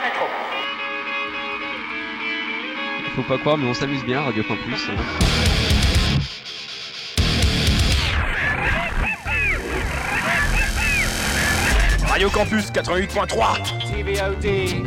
micro. Faut pas croire, mais on s'amuse bien, Radio Campus. Radio Campus 88.3 TVOD.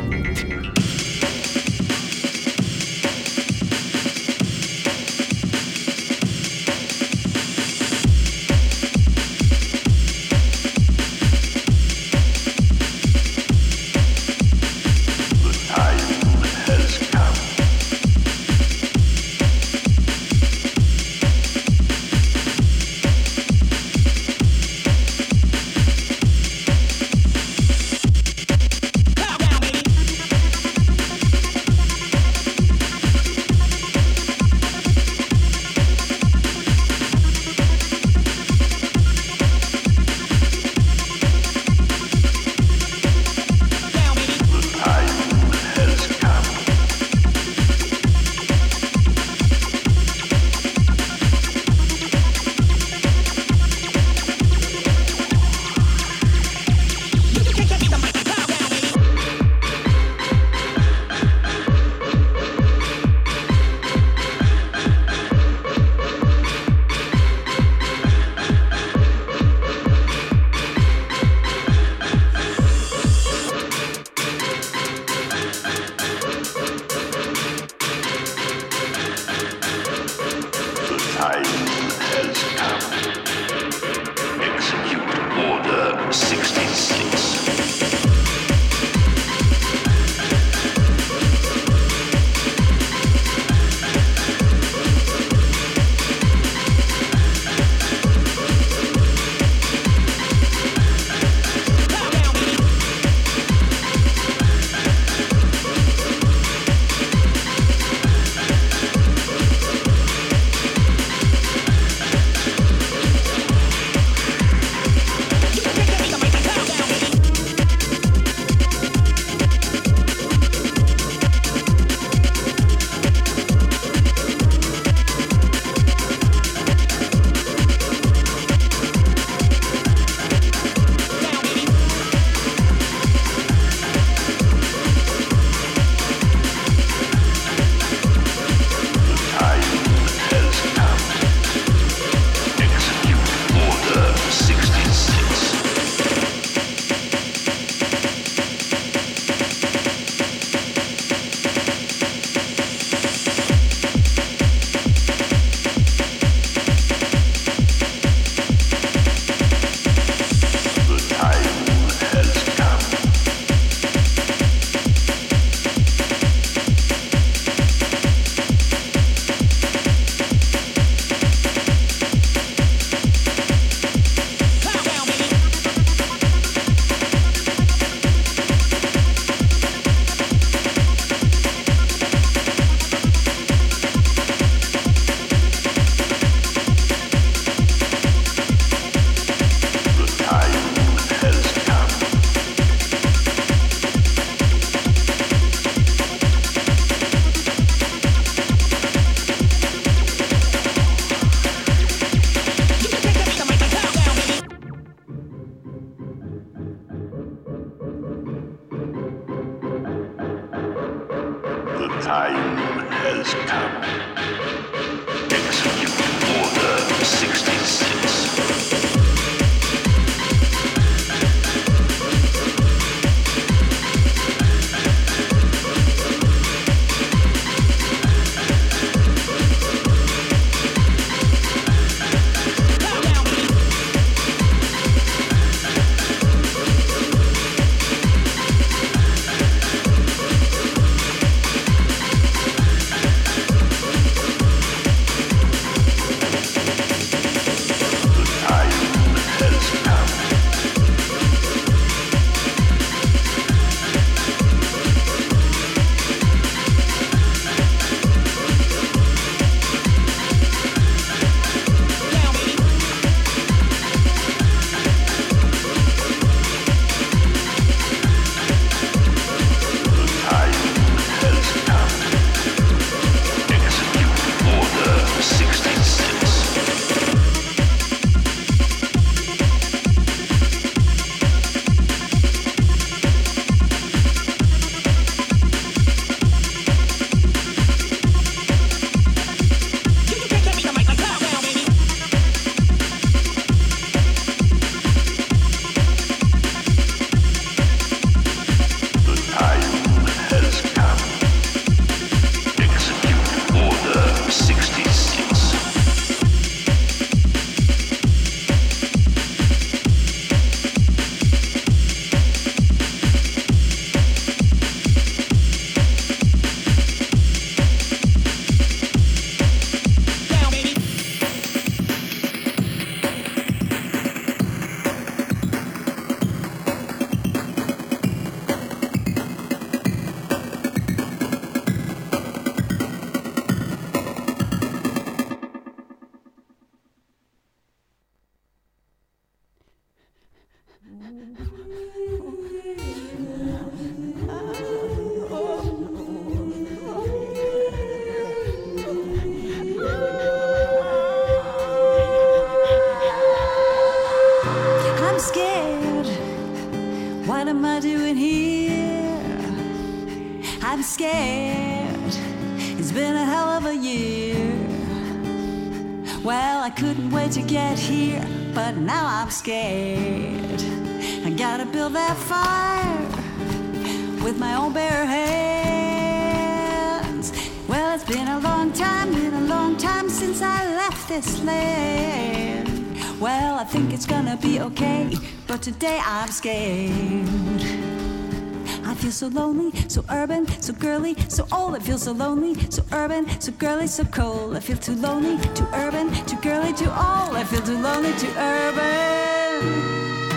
scared. What am I doing here? I'm scared. It's been a hell of a year. Well, I couldn't wait to get here, but now I'm scared. I gotta build that fire with my own bare hands. Well, it's been a long time since I left this land. Well, I think it's gonna be okay, but today I'm scared. I feel so lonely, so urban, so girly, so old. I feel so lonely, so urban, so girly, so cold. I feel too lonely, too urban, too girly, too old. I feel too lonely, too urban.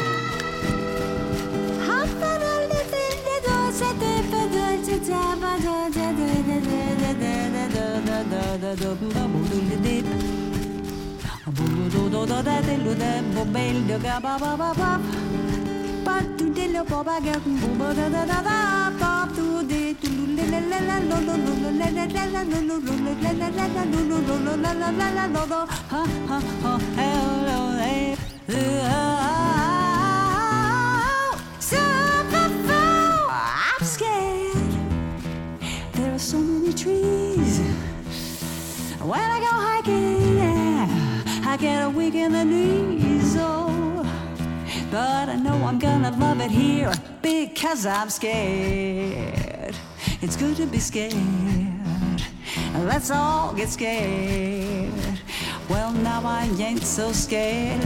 I'm scared. There are so many trees. When I go hiking, yeah, I get a weak in the knees, oh. But I know I'm gonna love it here because I'm scared. It's good to be scared. Let's all get scared. Well, now I ain't so scared.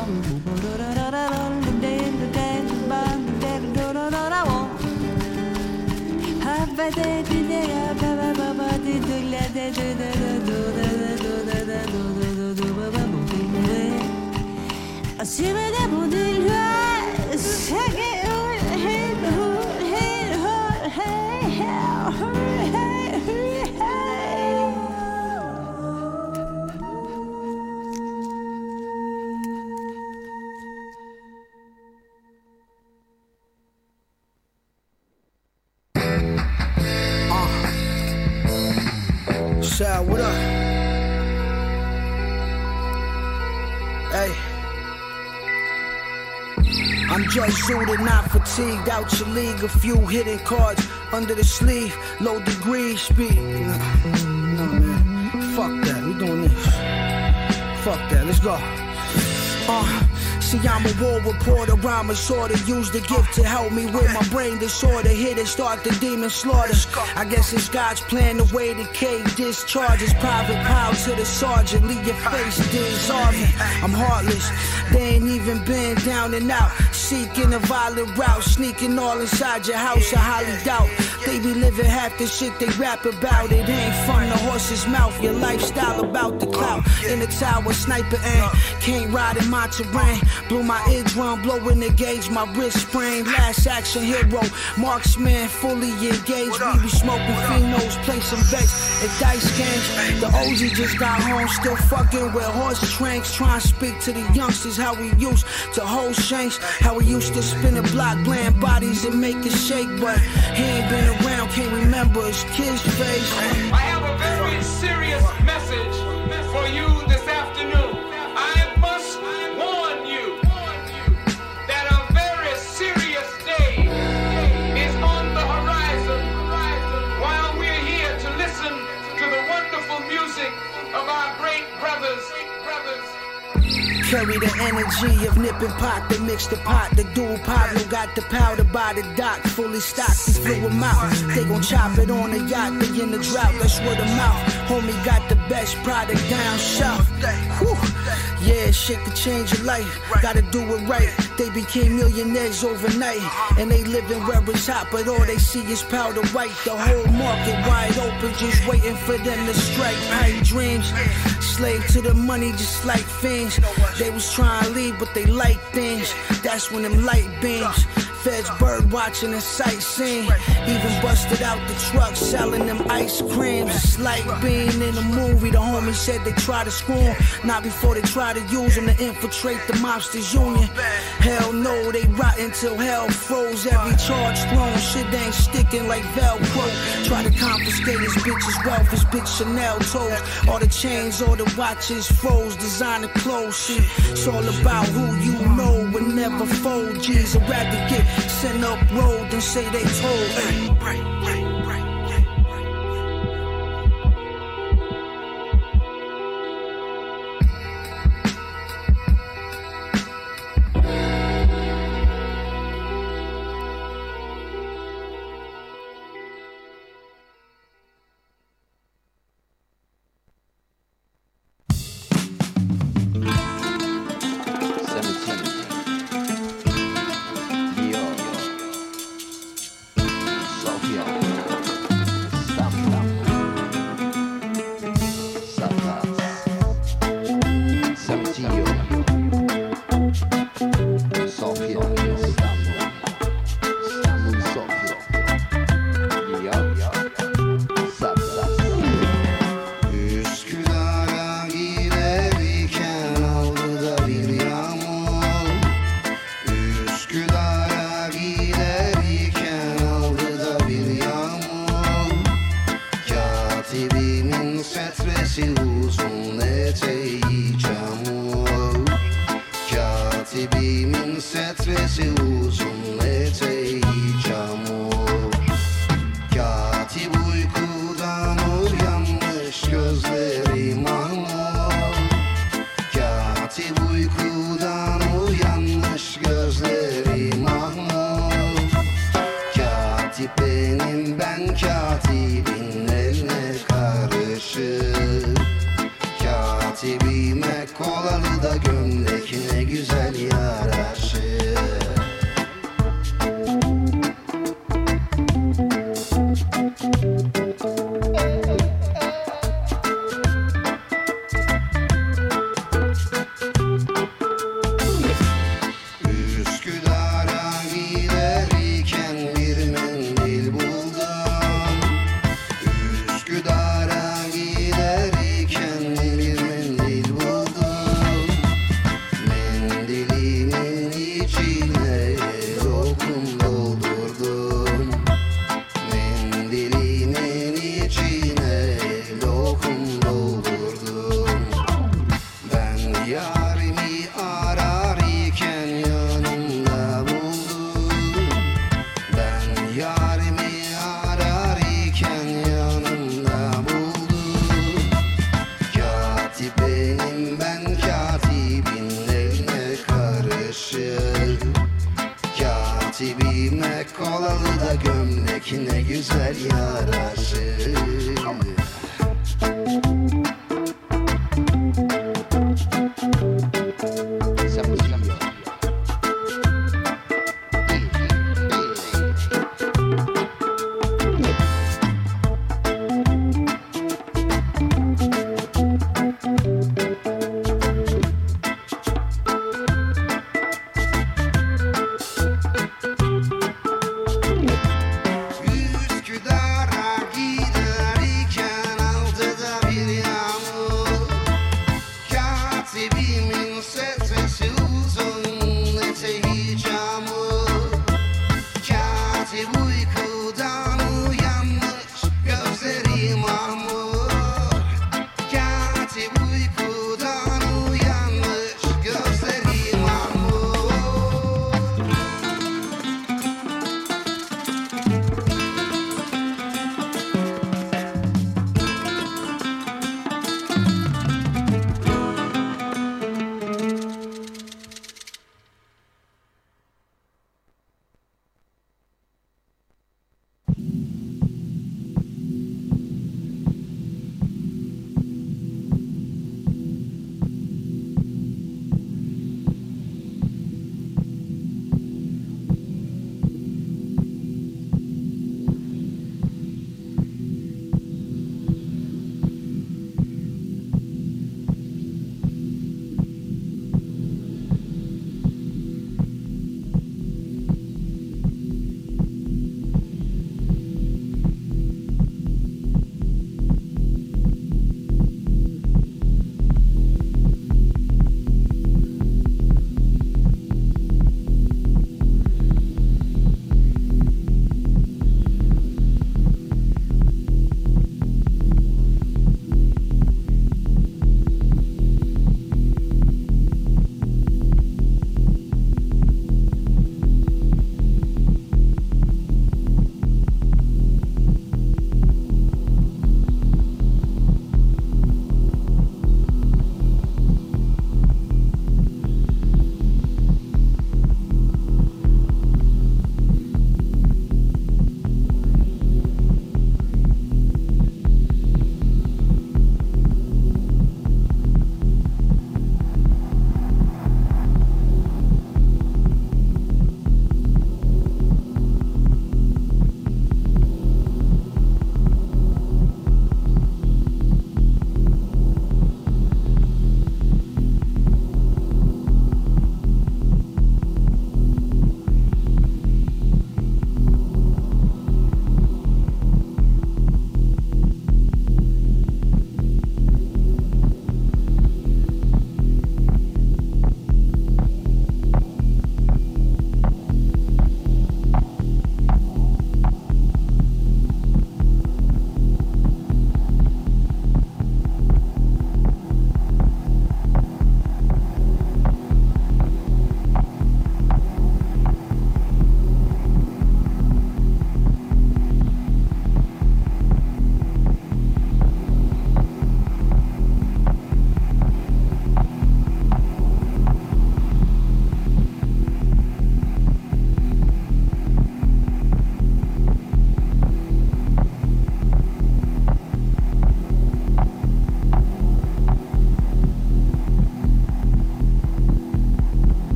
Sal, what up? Hey, I'm just suited, not fatigued, out your league. A few hidden cards under the sleeve, low degree speed. No, man, fuck that, we doing this. Fuck that, let's go. See, I'm a war reporter, rhyme and sorta use the gift to help me with my brain disorder. Hit and start the demon slaughter. I guess it's God's plan, the way the K discharges. Private power to the sergeant, leave your face dissolving. I'm heartless, they ain't even been down and out. Seeking a violent route, sneaking all inside your house, I highly doubt. They be living half the shit they rap about. It ain't from the horse's mouth, your lifestyle about the clout. In the tower, sniper aim, can't ride in my terrain. Blew my eardrum, blowing the gauge, my wrist sprained. Last action hero, marksman, fully engaged. We be smoking phenos, play some bets and dice games. The OG just got home, still fucking with horse tranks. Trying to speak to the youngsters, how we used to hold shanks. How we used to spin a block, bland bodies and make it shake. But he ain't been around, can't remember his kid's face. I have a very serious message for you this afternoon. I must warn you that a very serious day is on the horizon while we're here to listen to the wonderful music of our great brothers. Carry the energy of nipping pot, the mix the pot. The dual Pablo got the powder by the dock, fully stocked, he flew him out. They gon' chop it on the yacht, they in the drought, that's word of mouth. Homie got the best product down south. Whew. Yeah, shit could change your life, gotta do it right. They became millionaires overnight, and they living where it's hot, but all they see is powder white. The whole market wide open, just waiting for them to strike. Pipe dreams, slave to the money just like fiends. They was trying to leave, but they like things. That's when them light beams. Feds bird watching and sightseeing. Even busted out the truck selling them ice creams. It's like being in a movie. The homie said they try to screw him, not before they try to use him to infiltrate the mobsters union. Hell no, they rotten till hell froze. Every charge thrown, shit ain't sticking like Velcro. Try to confiscate his bitch's wealth, his bitch Chanel toes. All the chains, all the watches froze, designer clothes. Shit, it's all about who you know would never fold. G's I'd rather get sent up road than say they told. Hey, right. Üsküdar'a giderken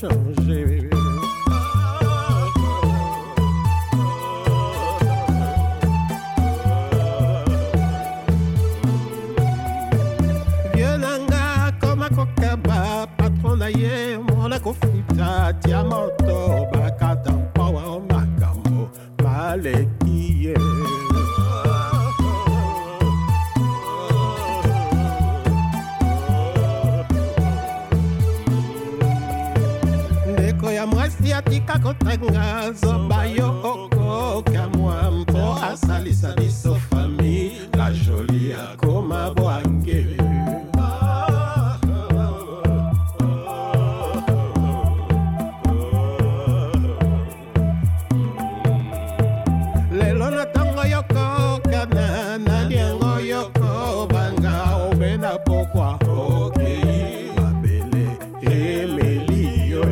changer. Violanga comme a kokaba, patron d'ailleurs, mon akofita, diamanto, bakatam, power, makambo, malekiye. Ya mwasi atika kotenga zoba yo oko kamwa mpo asalisa biso fami la jolie akoma bwange lelo na tango yoko kana na liengo yoko banga obena pokwa okei mabele emelio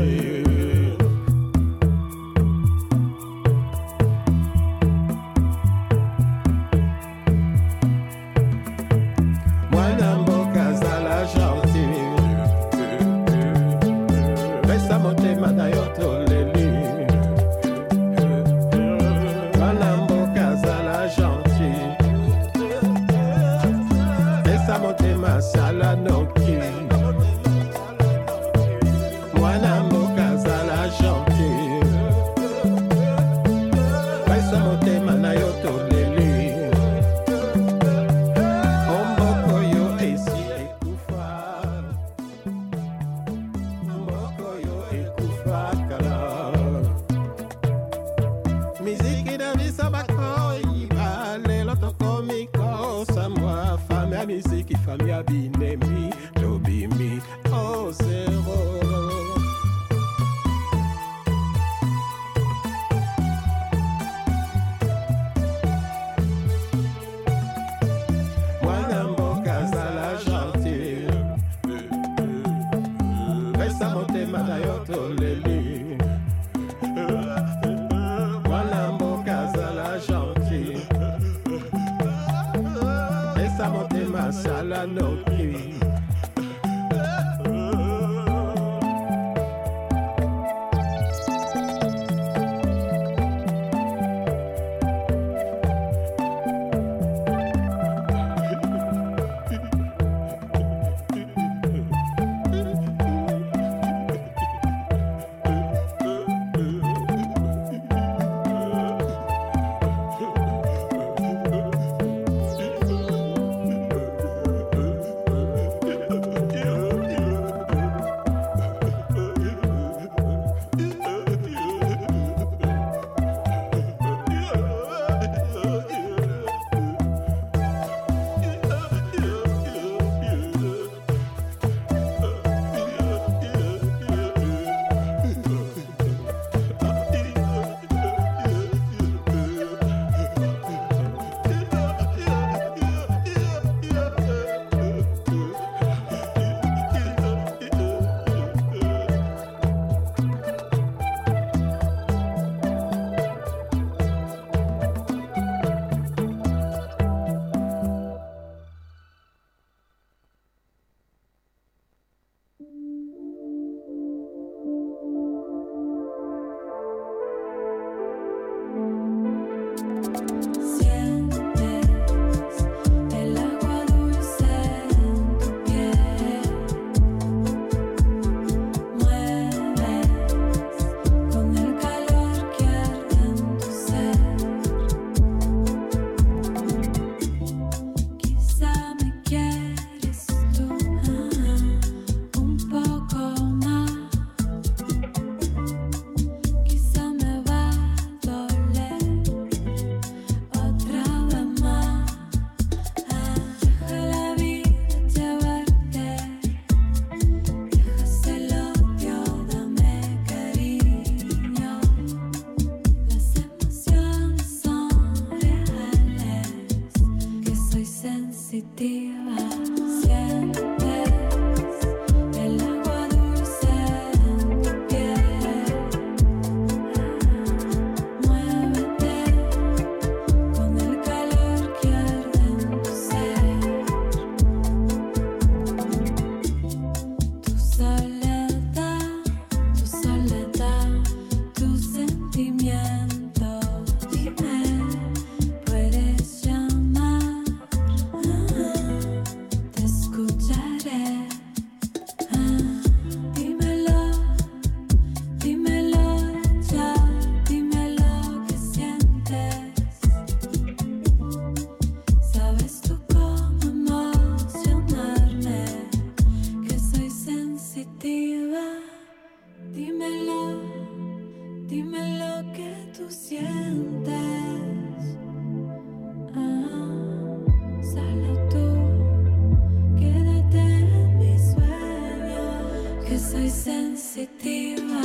sensitiva,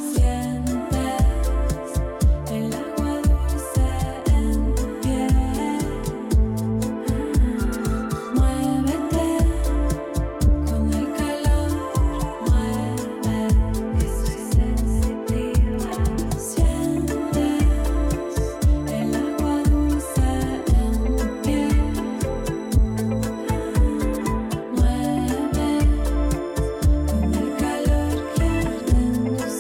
sientes el agua dulce en tu piel. Muévete con el calor, mueve, que soy sensitiva. Sientes el agua dulce en tu piel. Mueve con el calor que arde en tus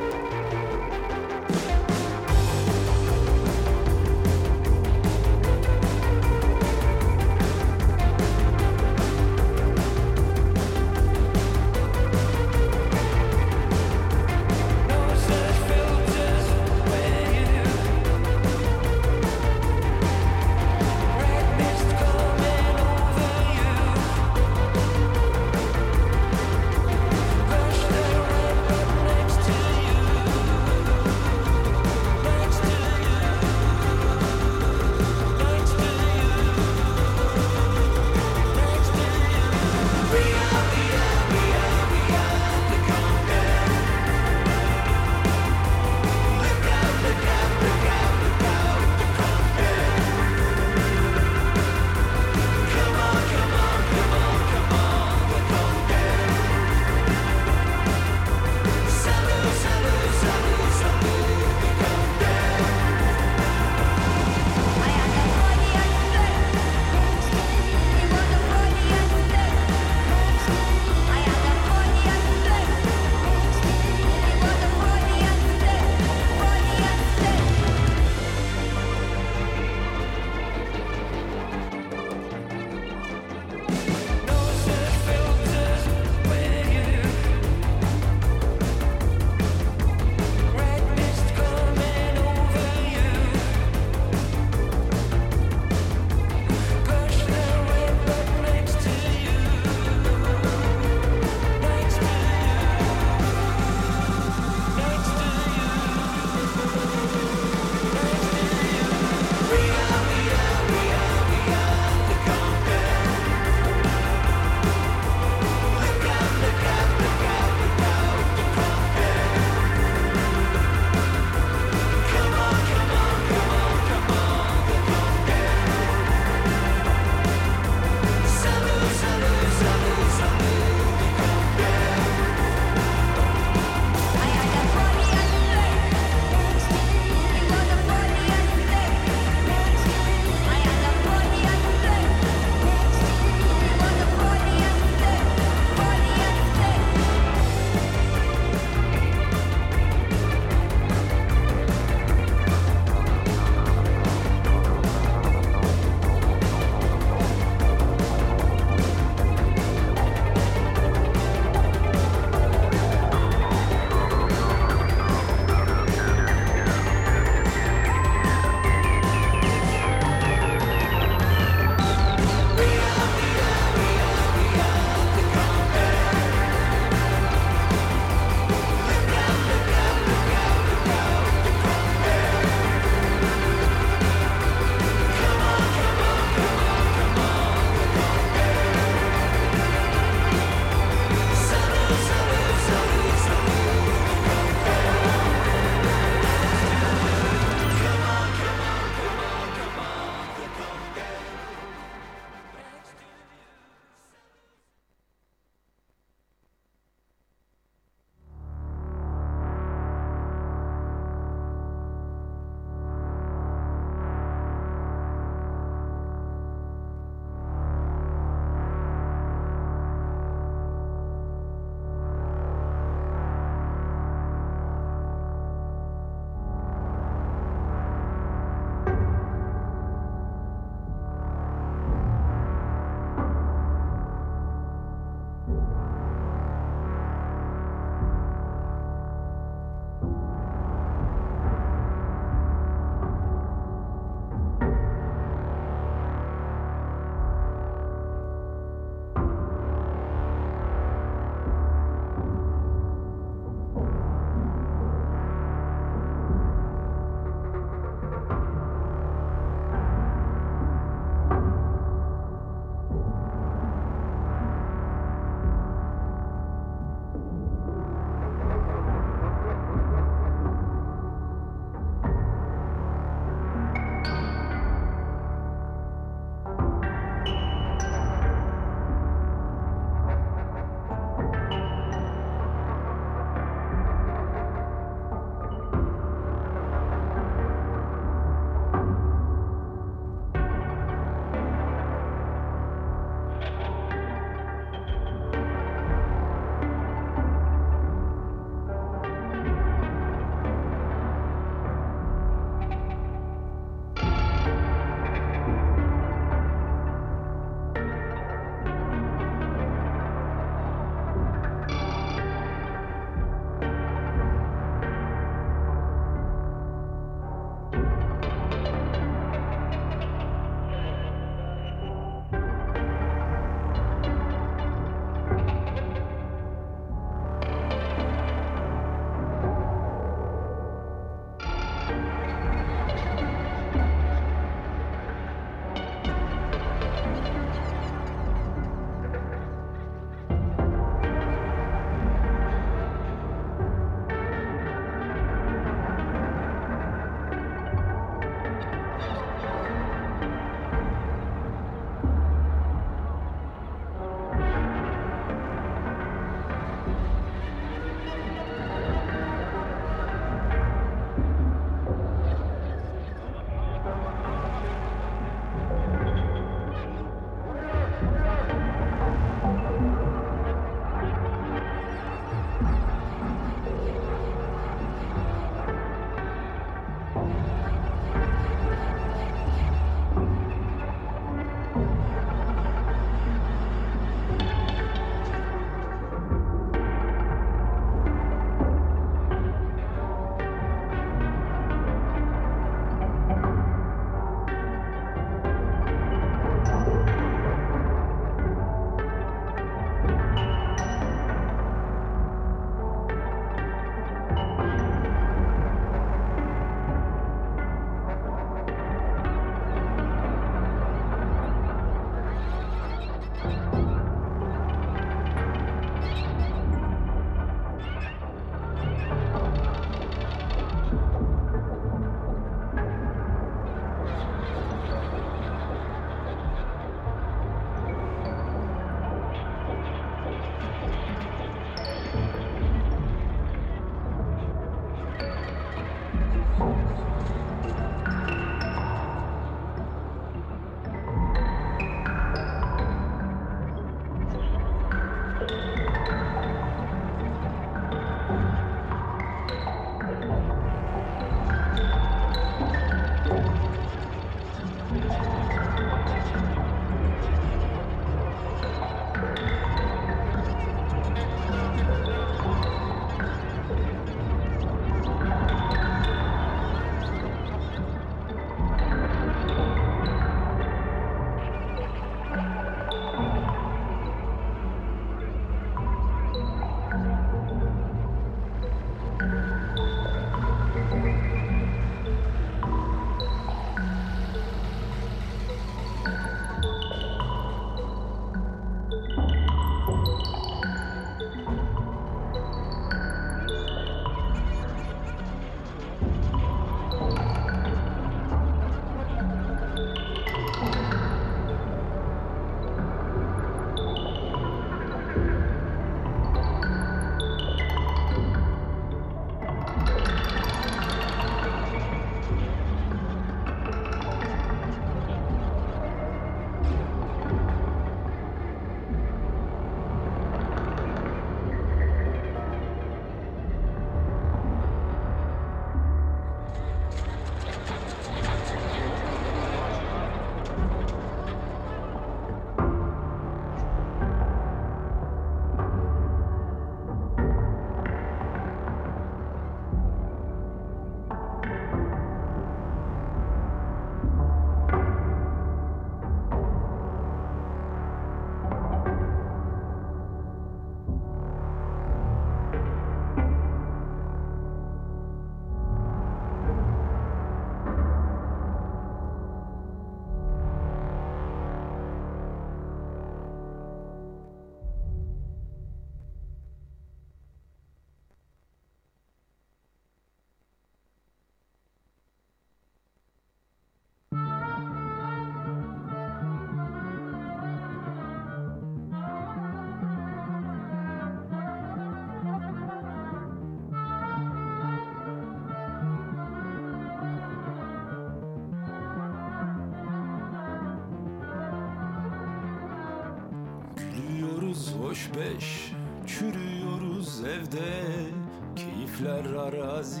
Hoş beş, çürüyoruz evde. Keyifler arazi,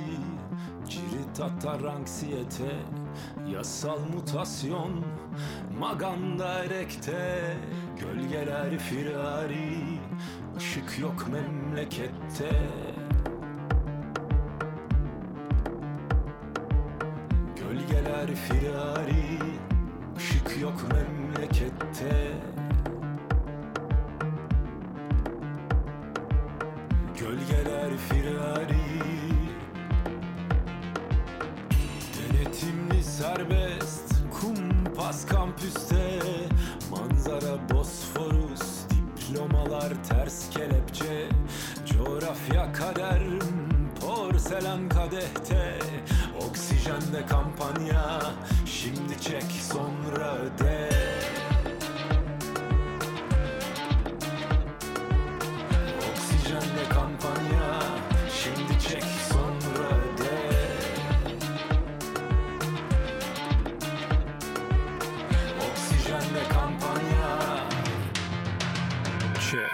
cirit atar anksiyete. Yasal mutasyon, maganda erekte. Gölgeler firari, ışık yok memlekette. Gölgeler firari, ışık yok memlekette. Gölgeler firari, denetimli serbest, kumpas kampüste. Manzara Bosforus, diplomalar ters kelepçe. Coğrafya kader, porselen kadehte. Oksijende kampanya, şimdi çek sonra öde. Oksijende kampanya, şimdi çek sonra öde. Oksijende kampanya, çek.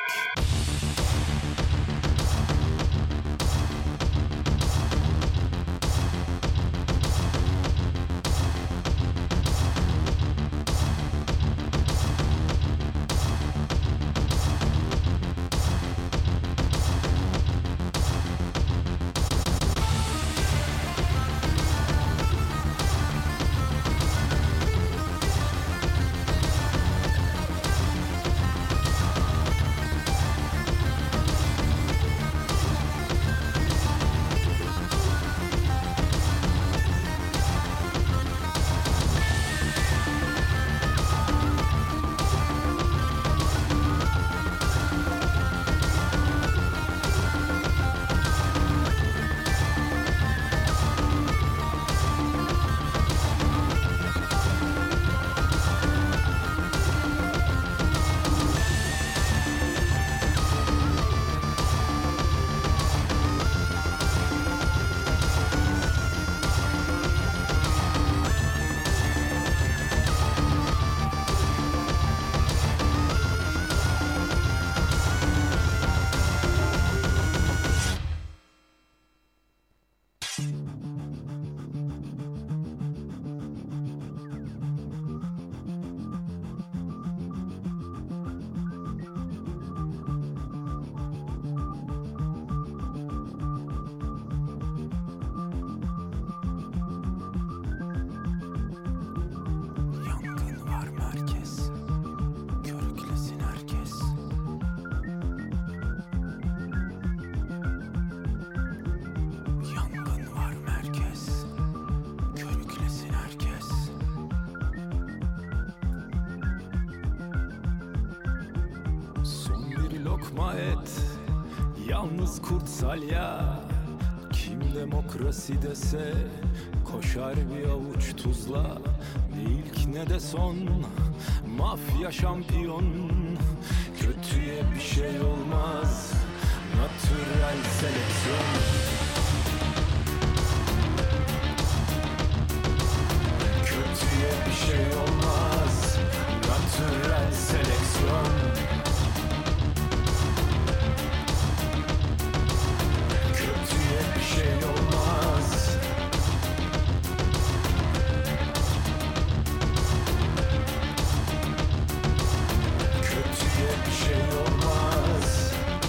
lokma et, yalnız kurt salya. Kim demokrasi dese koşar bir avuç tuzla. Ne ilk ne de son, mafya şampiyon. Kötüye bir şey olmaz, natürel seleksiyon. Kötüye bir şey olmaz, natürel seleksiyon. Kötüye bir şey olmaz. Kötüye bir şey olmaz.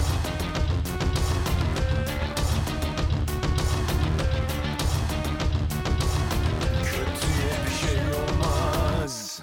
Kötüye bir şey olmaz.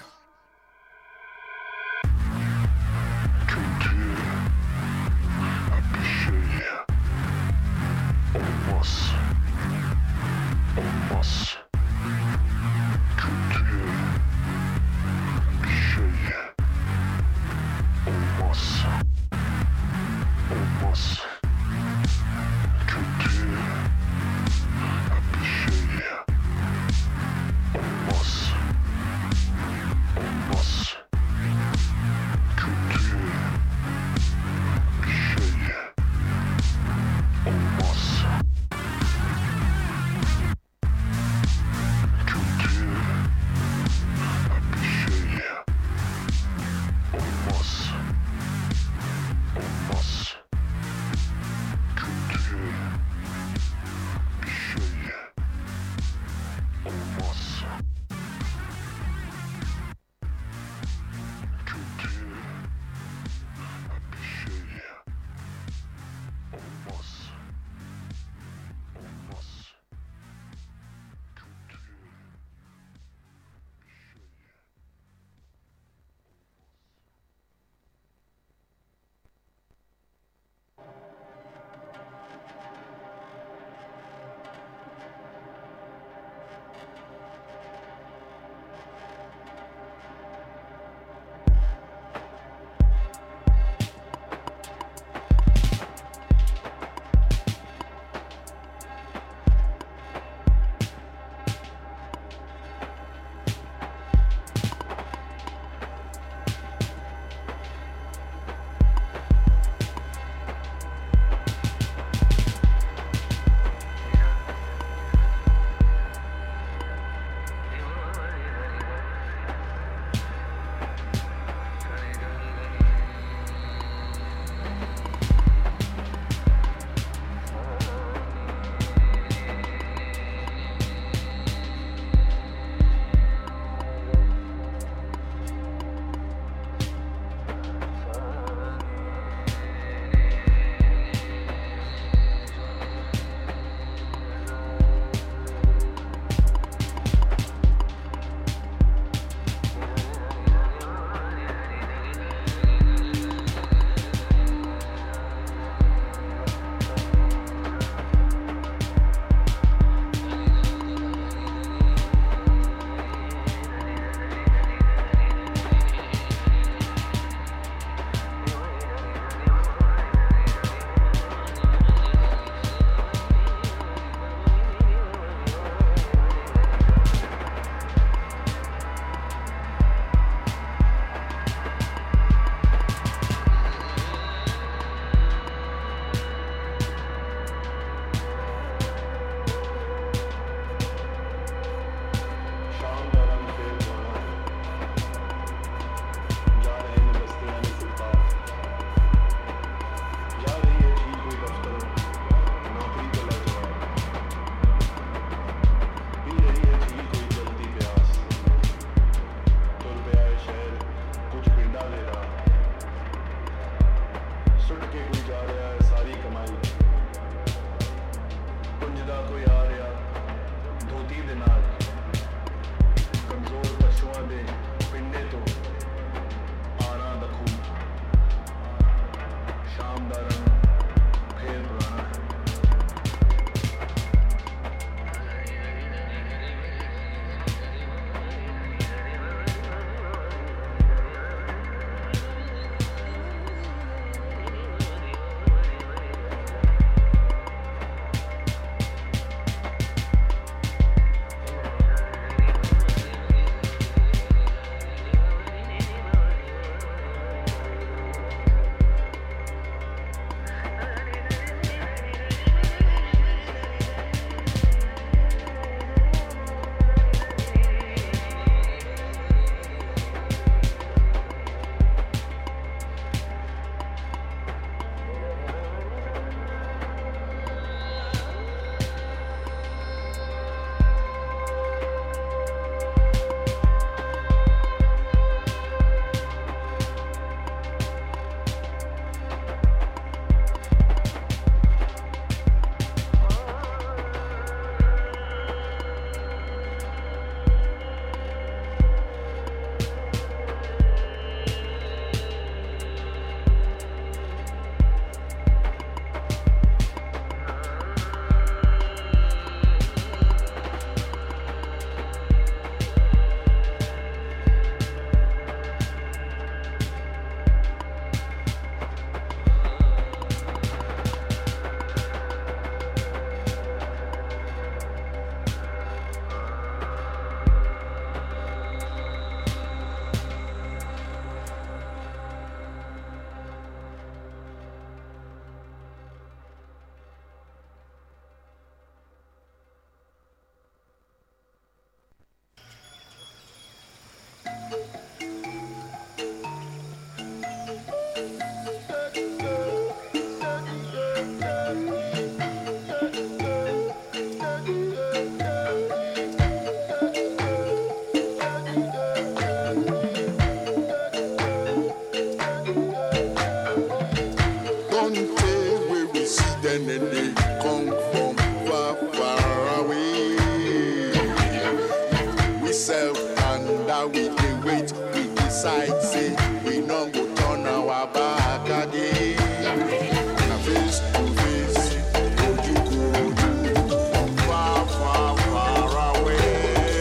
ourselves and that we dey wait. We decide, say we no go turn our back again. Na face to face, ojú kò ojú, far far far away.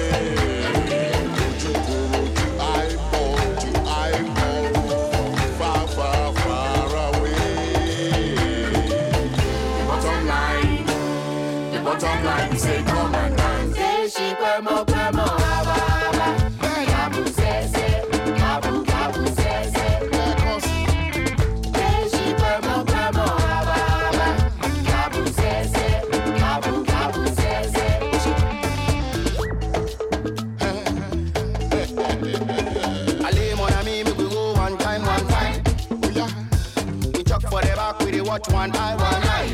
Ojú kò ojú, eyeball to eyeball, far far far away. The bottom line, we say come and dance. Say she kwemo kwemo aba aba, kabu sese, kabu kabu sese. Say she kwemo kwemo aba aba, kabu sese, kabu kabu sese. Allez mon ami, me we go one time, one time. Oh yeah. We chuck for the back, we dey watch one eye, one eye.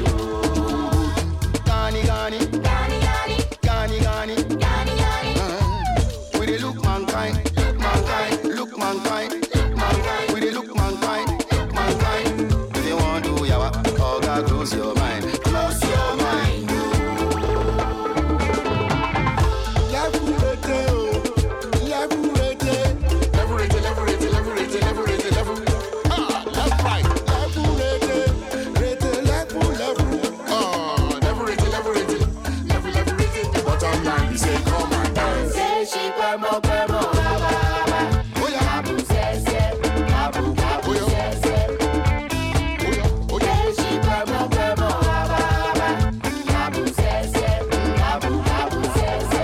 Gani gani, gani gani, gani gani, gani gani. We dey look mankind, look mankind, look mankind, look mankind. We dey look mankind, look mankind. If you want to yawa, oh God, close your mind, close your mind. Left right, the bottom line, we say come and dance. Say she kwemo kwemo aba aba, kabu sese, kabu kabu sese. Say she kwemo kwemo aba aba, kabu sese, kabu kabu sese.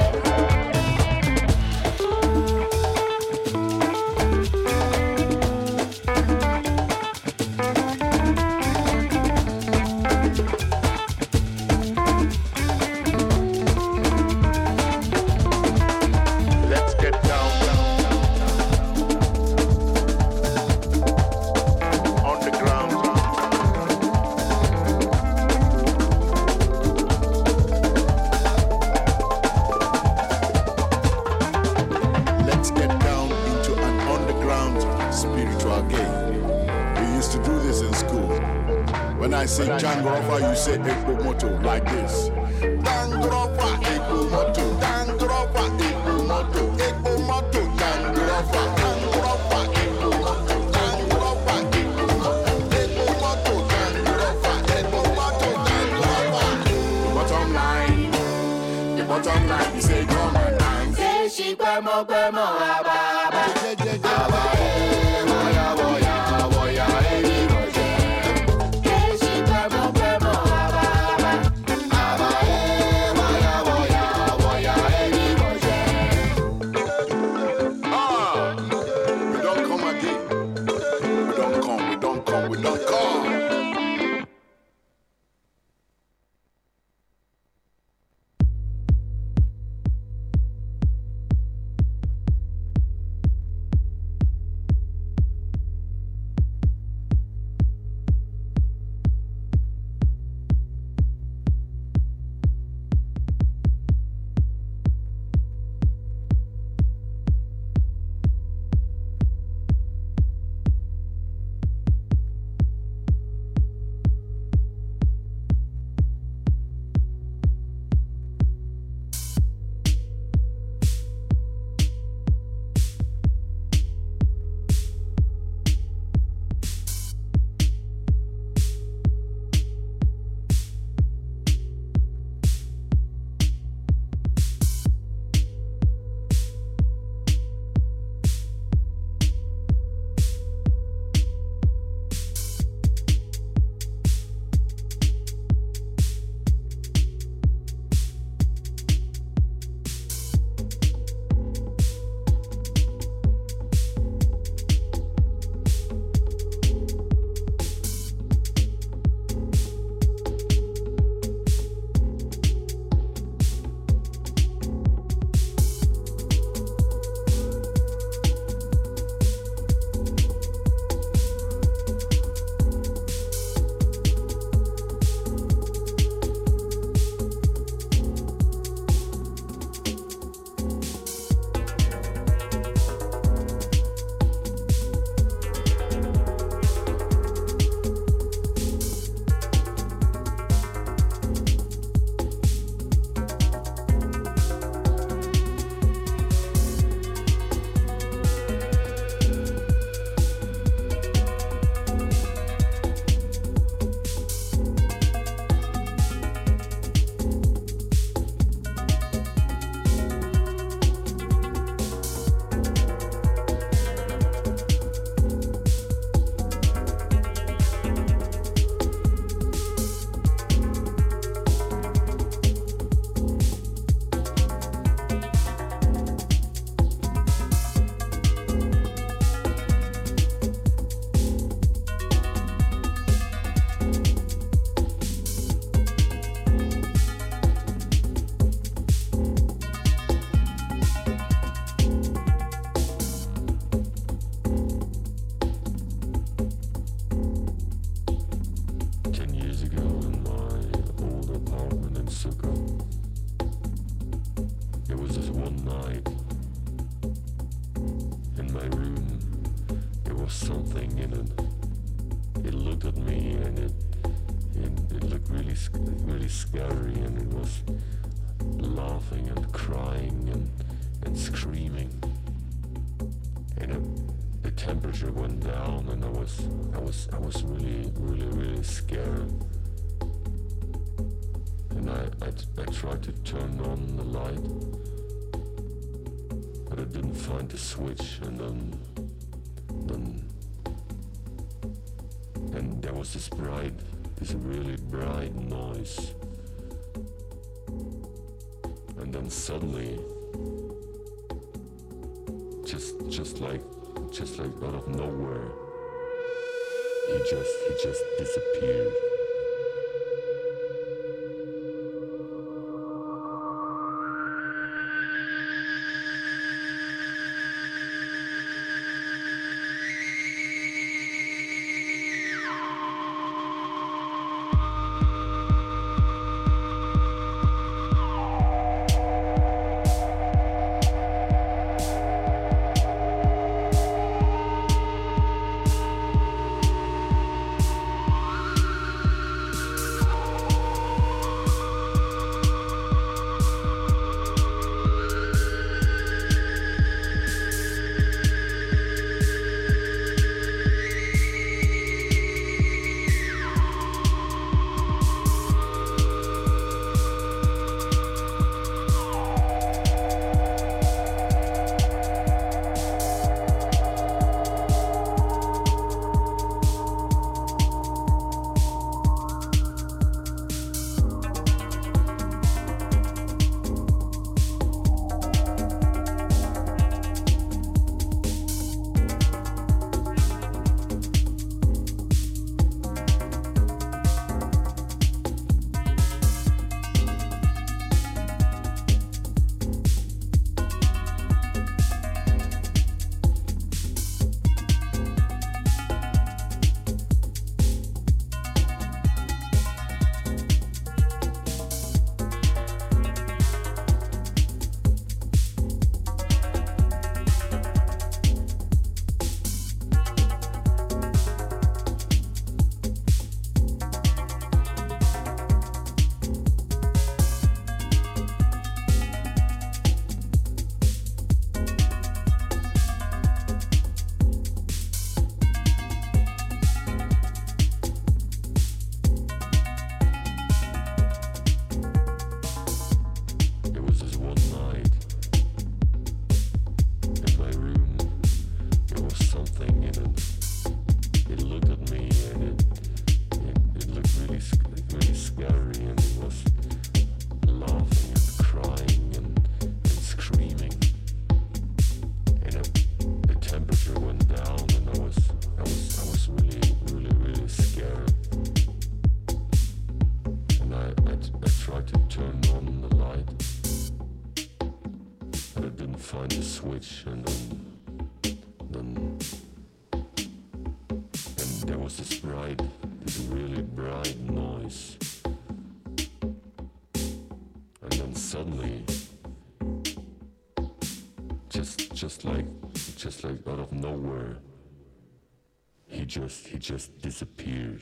Let's get down on the ground. Let's get down into an underground spiritual game. We used to do this in school. When I say Django Rofa, you say Ekpo Moto like this. Django Rofa, Ekpo Moto, Django Rofa, Ekpo Moto, Ekpo Moto, Django Rofa, Django Rofa, Ekpo Moto, Django Rofa, Ekpo Moto, Ekpo Moto, Django Rofa, Ekpo Moto, Django Rofa. The bottom line, we say come and dance. Say she kwemo kwemo aba aba, aba Boya, boya, boya, eri boje. say she kwemo kwemo aba aba. Boya, boya, boya, eri boje. We don't come again. We don't come, we don't come, we don't come. my room, there was something in it. It looked at me and it looked really scary, and it was laughing and crying and screaming. And the temperature went down, and I was really scared. And I tried to turn on the light, but I didn't find the switch, and there was this really bright noise. And then suddenly, just like out of nowhere, he just disappeared. This really bright noise. And then suddenly, just like out of nowhere, he just disappeared.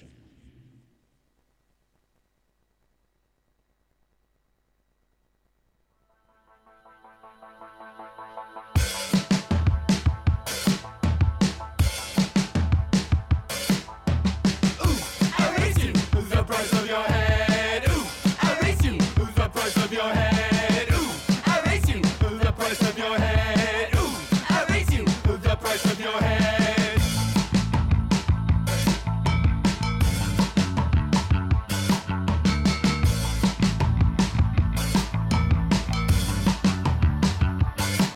Your head.